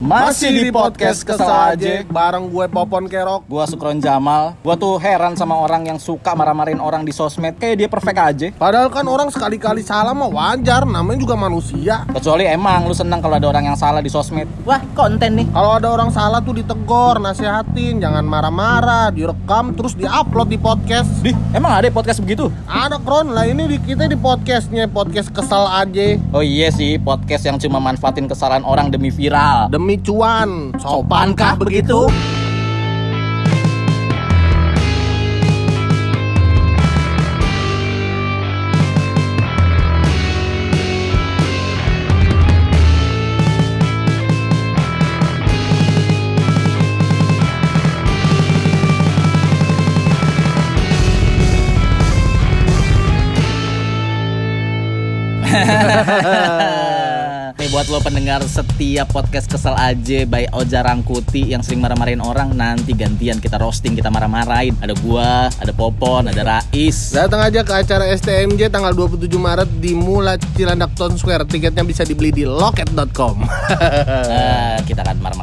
Masih di podcast Kesel Aja bareng gue Popon Kerok. Gua Sukron Jamal. Gua tuh heran sama orang yang suka marah-marahin orang di sosmed. Kayak dia perfect aja. Padahal kan orang sekali-kali salah mah wajar, namanya juga manusia. Kecuali emang lu senang kalau ada orang yang salah di sosmed. Wah, konten nih. Kalau ada orang salah tuh ditegor, nasihatin, jangan marah-marah, direkam terus diupload di podcast. Dih, emang ada podcast begitu? Ada Kron, lah ini kita di podcastnya, podcast Kesel Aja. Oh iya sih, podcast yang cuma manfaatin kesalahan orang demi viral. Demi cuan, sopankah begitu? Nih buat lo pendengar setiap podcast Kesel Aja by Oja Rangkuti yang sering marah-marahin orang, nanti gantian kita roasting, kita marah-marahin. Ada gua, ada Popon, ada Rais. Datang aja ke acara STMJ tanggal 27 Maret di Mula Cilandak Town Square. Tiketnya bisa dibeli di loket.com. Kita akan marah-marahin